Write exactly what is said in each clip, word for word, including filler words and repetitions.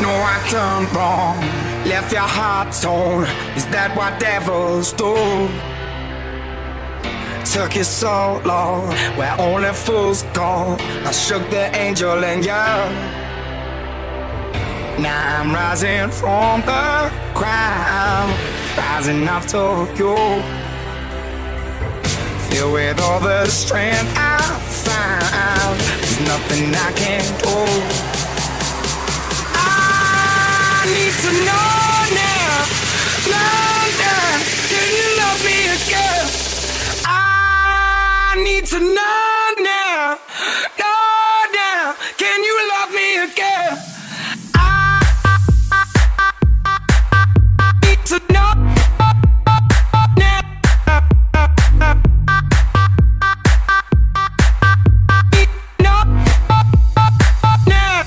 No, I turned wrong, left your heart torn. Is that what devils do? Took you so long, where only fools go. I shook the angel in you. Now I'm rising from the ground, rising up to you. Filled with all the strength I found, there's nothing I can't do. I need to know now, now, now, can you love me again? I need to know now, know now, can you love me again? To know now. No. Now.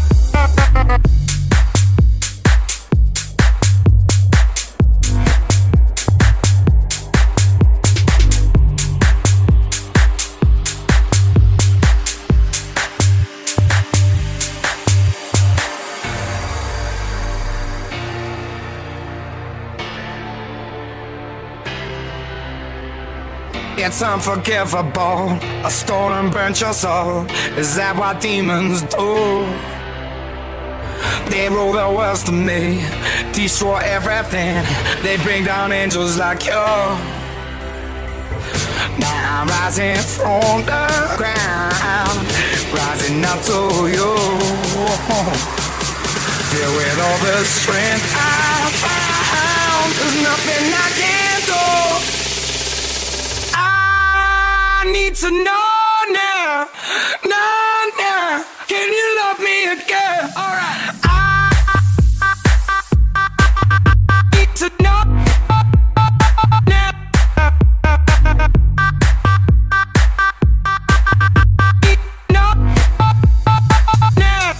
It's unforgivable. A stone burnt your soul. Is that what demons do? They rule the world to me, destroy everything. They bring down angels like you. Now I'm rising from the ground, rising up to you. Filled with all the strength I found, there's nothing I can't do. I need to know now, now, now, can you love me again? Alright. I need to know now. No, now.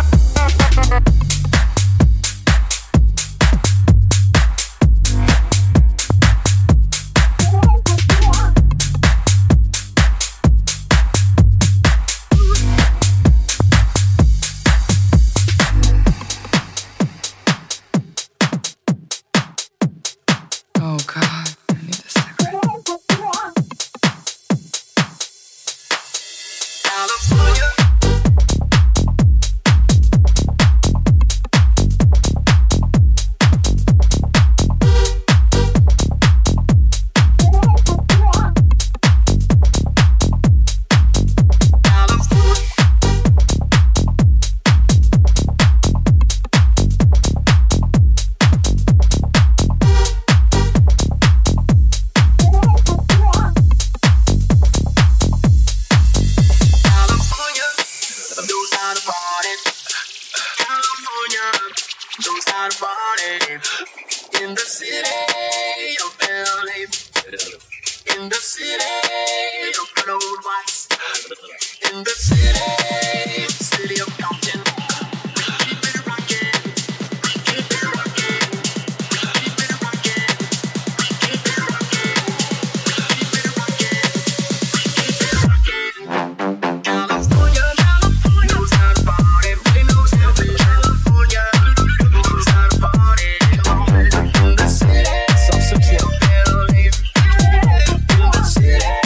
Oh God, I need a cigarette. California. In the city of L A, in the city of good old whites, in the city, city of Compton, we keep it rockin', we keep it rockin', we keep it rockin', we keep it rockin', we keep it rockin', we keep it rockin'. California, California knows how to party, really knows how to California knows how to party. In the city, so secure, in the city.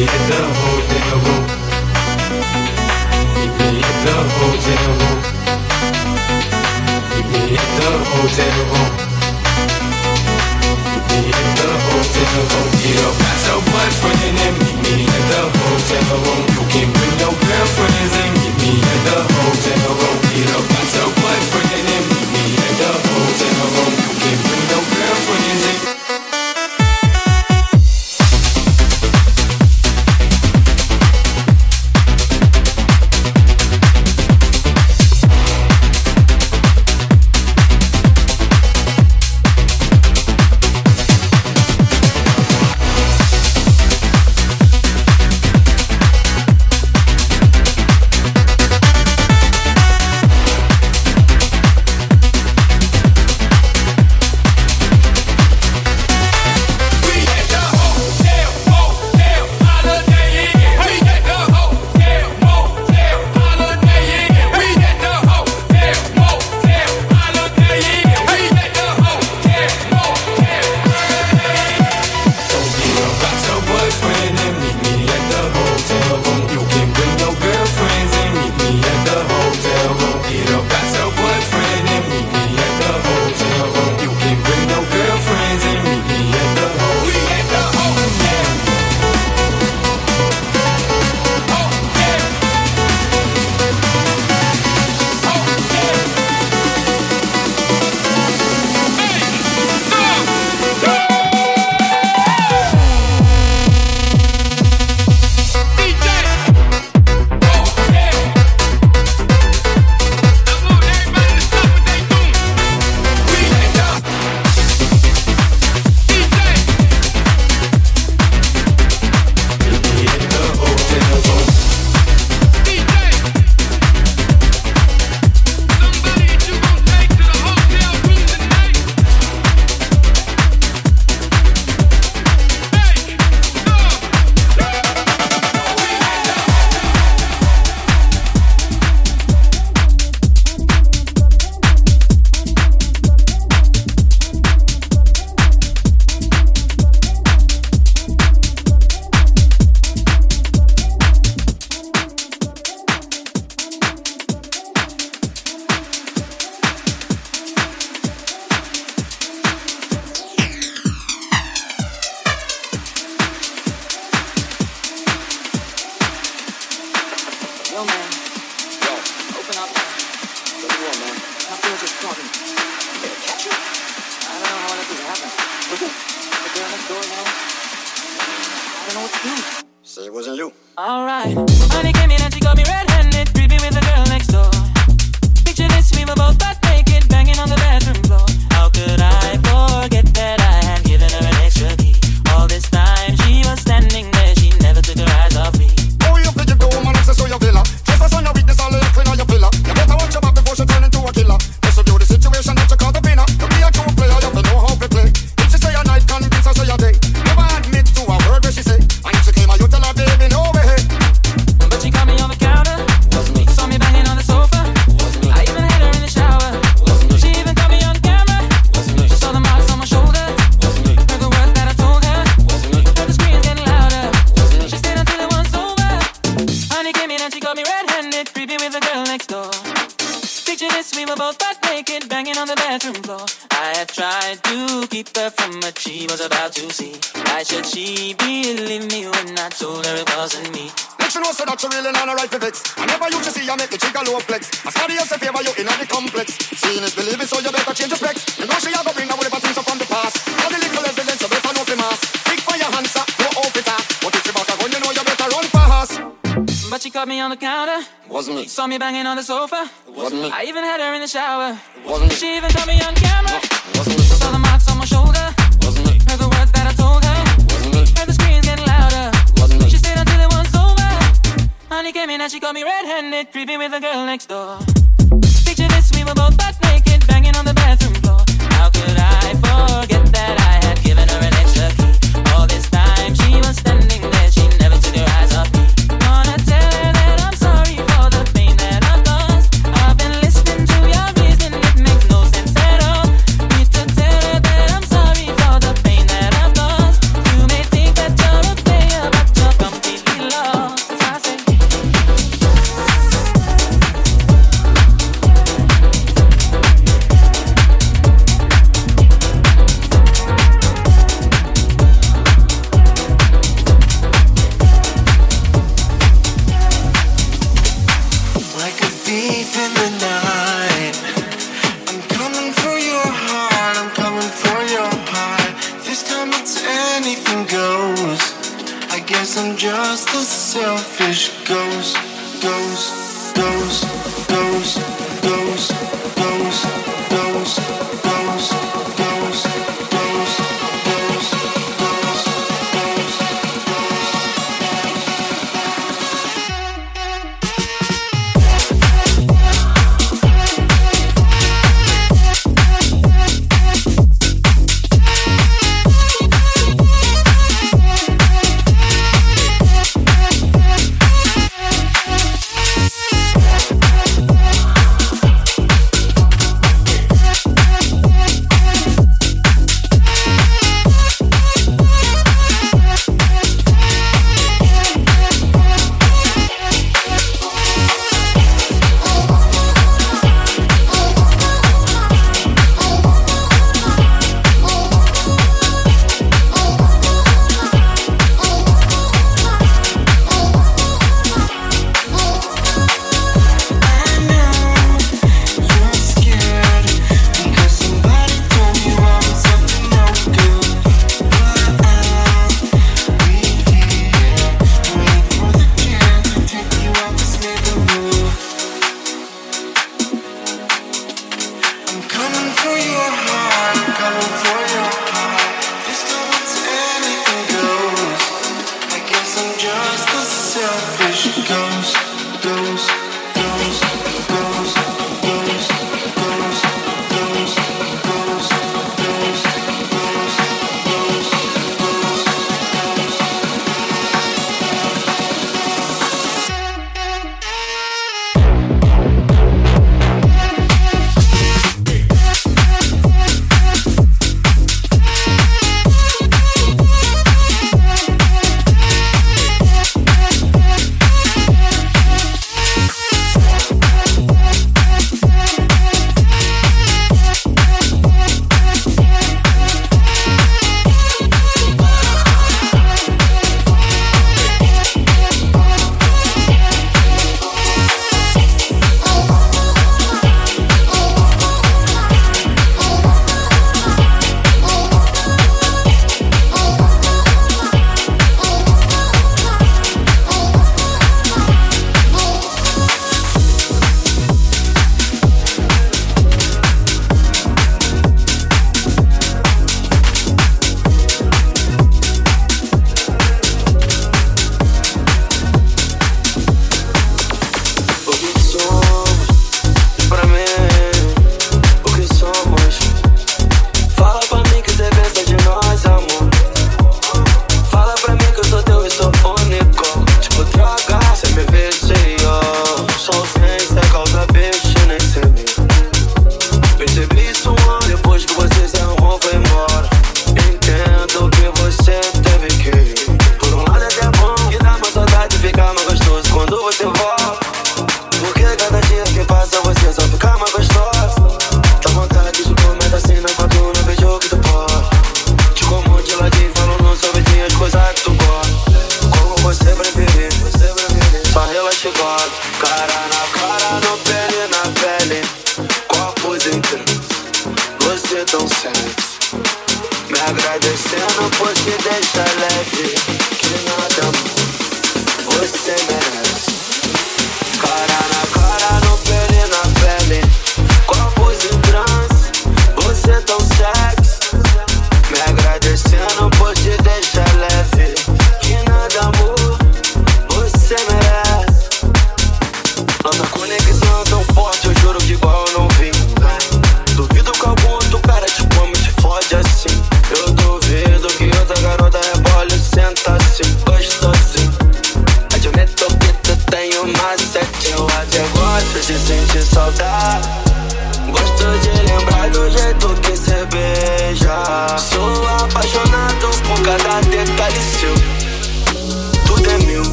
me at the hotel room. Meet me at the hotel room. Meet me at the hotel room. Meet me at the hotel room. Get up, got your boyfriend and meet me at the hotel room. You can bring your girlfriends and meet me at the hotel room. Get up, got your boyfriend and meet me at the hotel room. You can bring your girlfriends and saw me banging on the sofa. It wasn't me. I even had her in the shower. It wasn't me. She even caught me on camera. It wasn't me. Saw the marks on my shoulder. It wasn't me. Heard the words that I told her. It wasn't me. Heard the screams getting louder. It wasn't me. She stayed until it was over. Honey came in and she caught me red-handed, creepy with the girl next door. Picture this, we were both butt naked, banging on the bathroom floor. How could I forget that I had given her an extra key? All this time she was standing there, she never took her eyes off me. Gonna tell her that I'm sorry for the pain that I've caused. I've been listening to your reason, it makes no sense at all. Need to tell her that I'm sorry for the pain that I've caused. You may think that you're a player, but you're complete just a selfish ghost, ghost, ghost, ghost, ghost, ghost, ghost, ghost, ghost, ghost, ghost,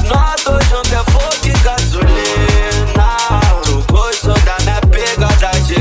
fogo e gasolina. Tu gostou da minha pegada de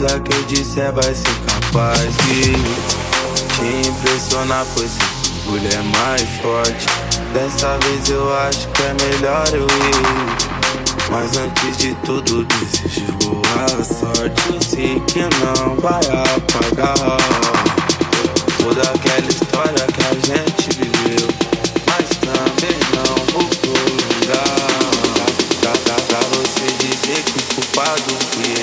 Nada que eu disser vai ser capaz de te impressionar, pois esse orgulho é mais forte. Dessa vez eu acho que é melhor eu ir. Mas antes de tudo desejo boa sorte. Eu sei que não vai apagar toda aquela história que a gente viveu, mas também não vou prolongar. Pra, pra, pra você dizer que o culpado fui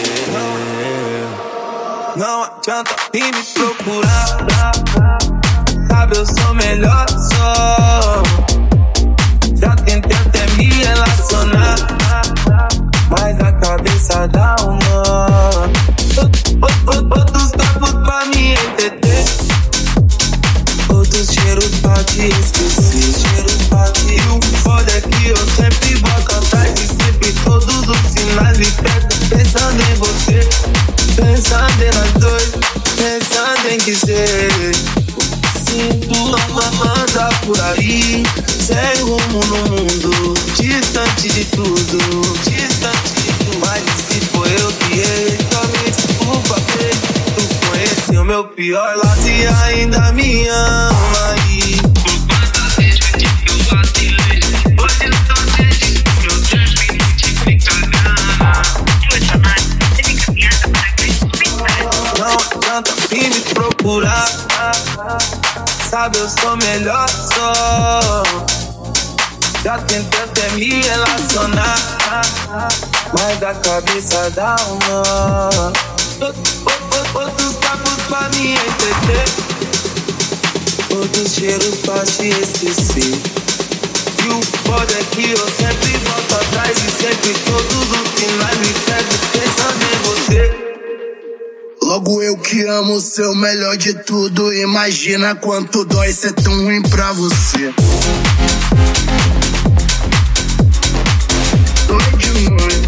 eu. Não adianta vir me procurar, sabe eu sou melhor só. Já tentei até me relacionar, mas a cabeça dá um nó. Outros tapos pra me entender, outros cheiros pra te esquecer. Cheiros pra te... E o foda é que eu sempre volto atrás e sempre todos os sinais me pego, pensando em você, pensando em nós dois, pensando em dizer. Sinto anda por aí, sem rumo no mundo, distante de tudo, distante de tudo. Mas se foi eu que errei, só me desculpa, baby. Tu conheceu meu pior lado e ainda me ama aí. Por quantas vezes que eu vacilei, hoje eu só sei que eu terminei de ficar. Não adianta vir me procurar, sabe eu sou melhor só. Já tentei até me relacionar, mas a cabeça dá um nó. Outros papos pra me entender, outros cheiros pra te esquecer. E o foda é que eu sempre volto atrás e sempre todos os sinais me pego, pensando em você. Logo eu que amo o seu melhor de tudo, imagina quanto dói ser tão ruim pra você. Dói demais.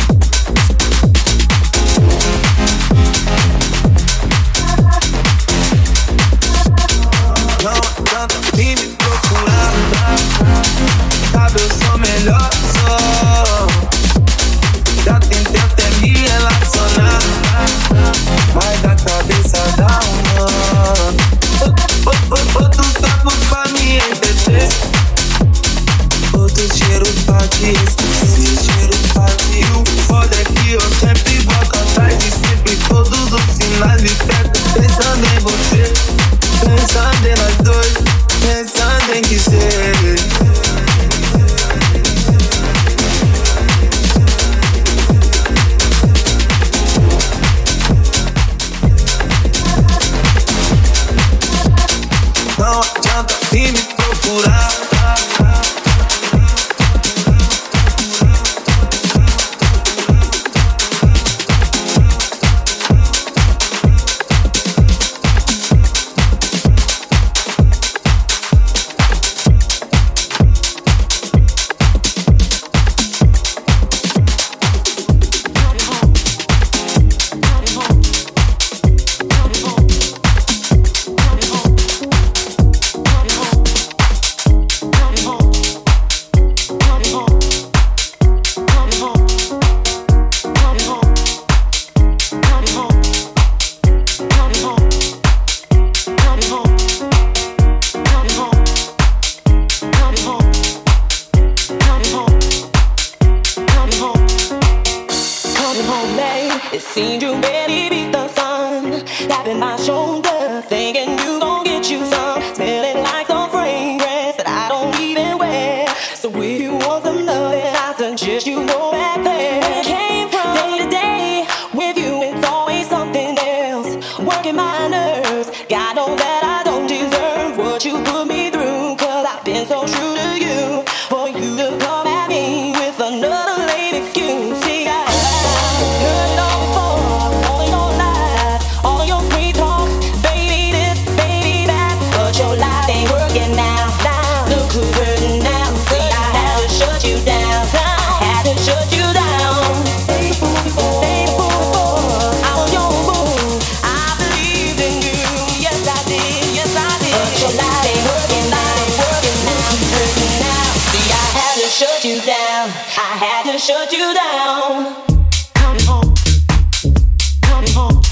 Não adianta vir me procurar, sabe eu sou melhor só. Já tentei até me relacionar, mas a cabeça dá um nó. Outros tapos pra me entender, outros cheiros pra te esquecer. Cheiros pra te... E o foda é que eu sempre volto atrás e sempre todos os sinais me pego, pensando em você, pensando em nós dois, pensando em dizer. Não adianta vir me procurar, it seemed you barely beat the sun. Tapping my shoulder, thinking you gon' get you some. Smelling like some fragrance that I don't even wear. So if you want some loving, I suggest you go back there. Came from day to day, with you it's always something else. Working my nerves, God knows that I don't deserve what you put me through. Cause I've been so true to you, for you to come at me with another lame excuse. See, I heard it all before, all of your lies, all of your free talk, baby this, baby that, but your life ain't working now, now, look who's hurting now. See, I had to shut you down, I had to shut you down. Stay the fool before, stay the fool before, I was your boo, I believed in you, yes I did, yes I did, but your life ain't working now, ain't working now, look who's hurting now. See, I had to shut you down, I had to shut you down. Coming home, coming home.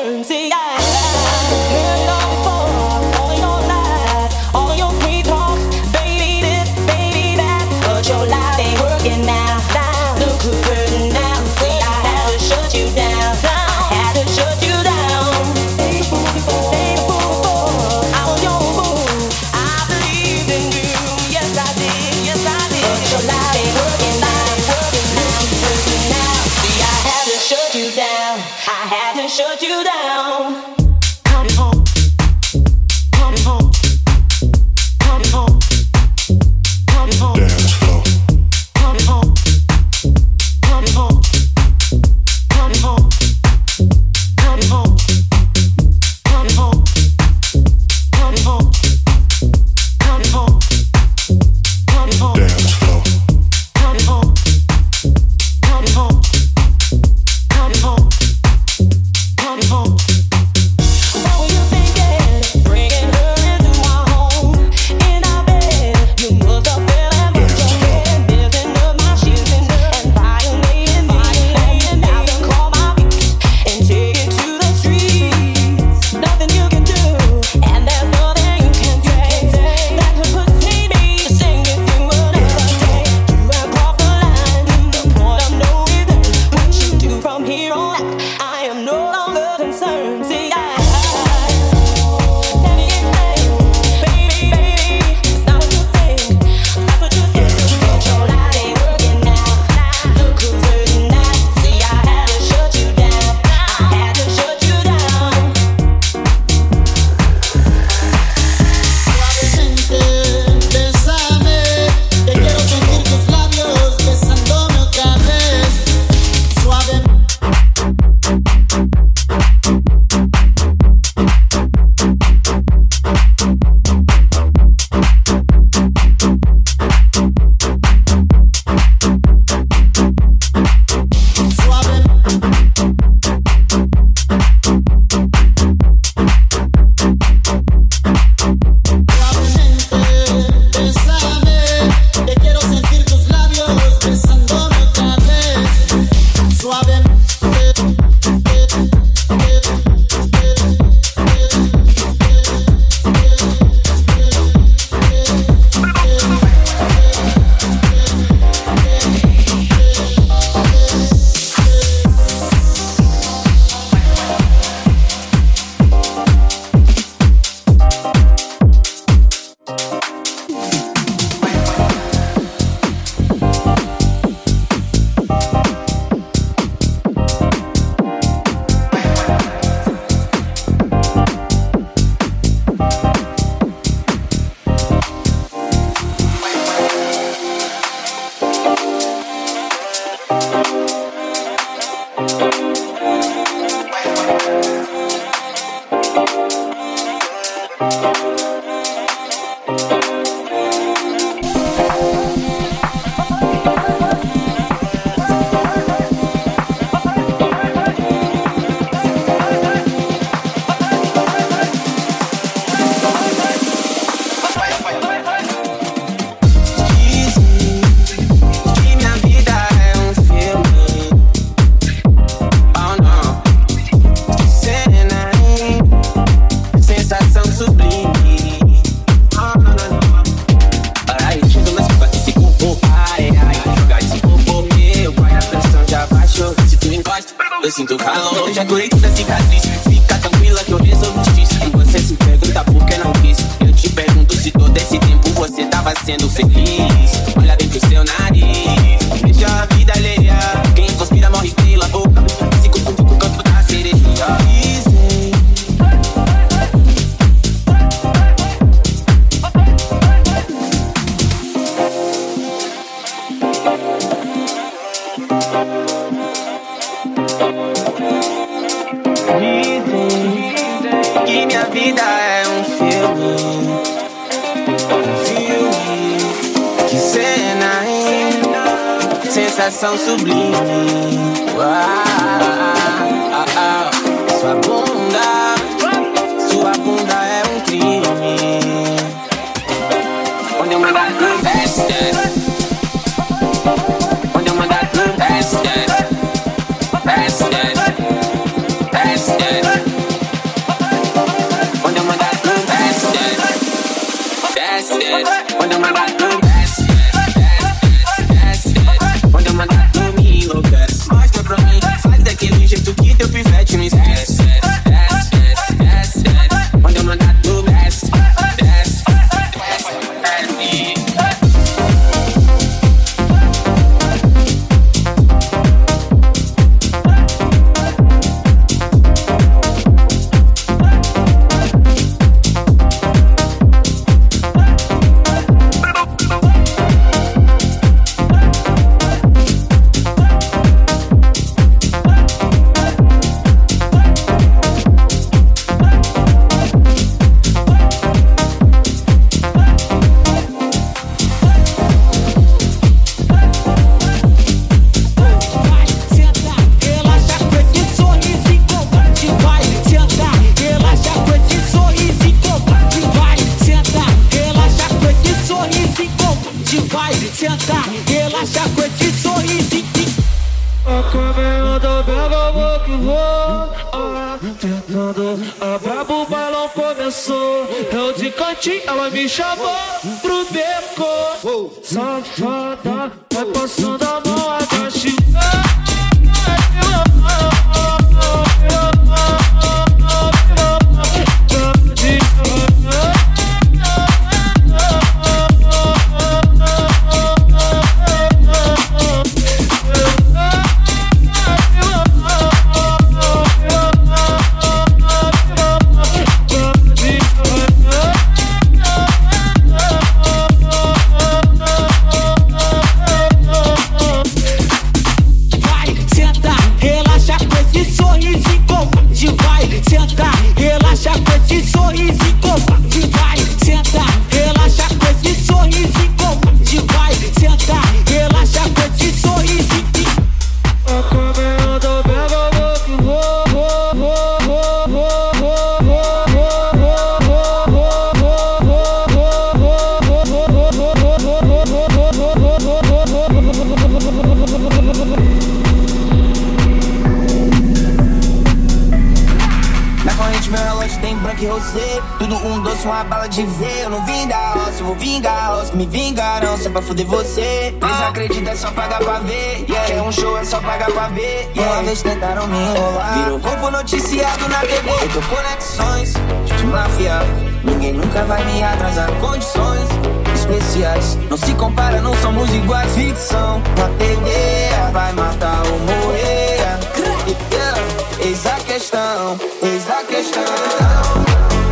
concern. See, I heard it all before. All your lies, all your free talk, baby this, baby that, but your life ain't working now. Now look who's hurting now. See, I had to shut you down. I had to shut you down. Ain't a fool before, ain't a fool before. I was your fool. I believed in you. Yes I did, yes I did. But your life ain't working now, working now, working now. See, I had to shut you down. I had to shut you down. Coming home, coming home, coming home, coming home. Dance floor. Coming home, coming home, coming home, coming home, coming home, coming home, coming home, coming home. Dance floor. Coming home, coming home, coming home, coming home. What were you thinking? Bringing her into my home, in our bed. You must have fell and put your head, messing up my shoes and violating me. And now you call my beat and take it to the streets. Nothing you can do, and there's nothing you can say that could persuade me to sing with you another day. You have crossed the line to the point of no return. What you do from here on out, I am no longer concerned. See, I let me explain, baby, baby, it's not what you think. That's what you think. But your life ain't working now. Look who's hurting now. See, I had to shut you down. I had to shut you down. Suavemente, bésame, que quiero sentir tus labios besándome otra vez. Suave. Suave. Suavemente, bésame, que quiero sentir tus labios besándome otra vez. Suavemente. Que minha vida é um filme. Oh não, que cena, hein? Sensação sublime. Oh não, não, não. Ai, chego nas curvas desse corpo. Ai, ai, jogar esse corpo meu. Vai, a pressão já baixou. Se tu encosta, eu sinto calor. Já curei toda a cicatriz. Fica tranquila que eu resolvo te dizer. E você se pergunta por que não quis. Eu te pergunto se todo esse tempo você tava sendo feliz. Olha bem pro seu nariz, veja a vida alheia. Quem conspira morre pela boca. Se confunde com o canto da sereia. Dizem Dizem que minha vida é um filme. Um filme. Que cena, hein? Sensação sublime. Uau, ah, ah. Sua bunda, sua bunda é um crime. Onde eu mandar desce, desce. Onde eu mandar desce, desce. Desce, desce. Desce, desce. noite ela me chamou pro beco. Safada, vai passando a mão abaixo. Tudo um doce, uma bala de ver. Eu não vim da roça, eu vou vingar a roça. Me vingaram só pra fuder você. Eles acreditam, é só pagar pra ver. Yeah. Quer um show, é só pagar pra ver. Yeah. Uma vez tentaram me enrolar, virou corpo noticiado na T V. Eu tô conexões de máfia. Ninguém nunca vai me atrasar. Condições especiais, não se compara, não somos iguais. Ficção na T V, vai matar ou morrer. Yeah. Eis a questão, eis a questão.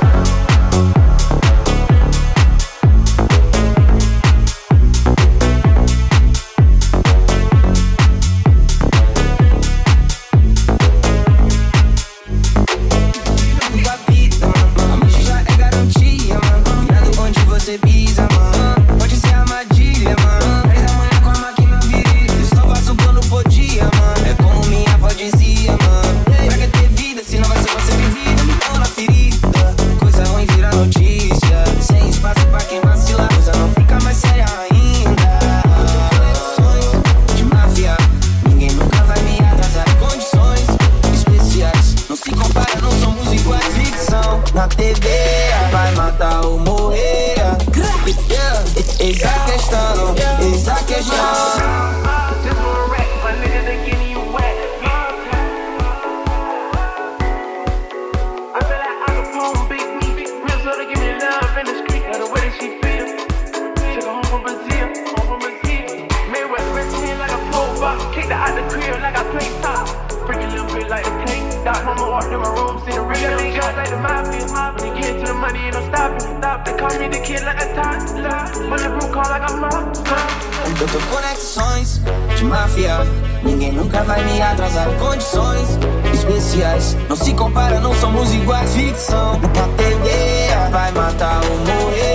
Eu tô conexões de máfia. Ninguém nunca vai me atrasar. Condições especiais, não se compara, não somos iguais. Ficção na T V, vai matar ou morrer.